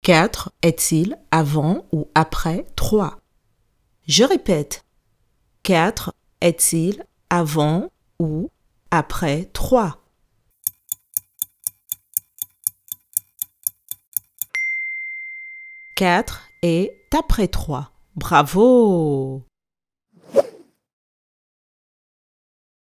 4 est-il avant ou après 3? Je répète. 4 est-il avant ou après 3? 4 est après 3. Bravo!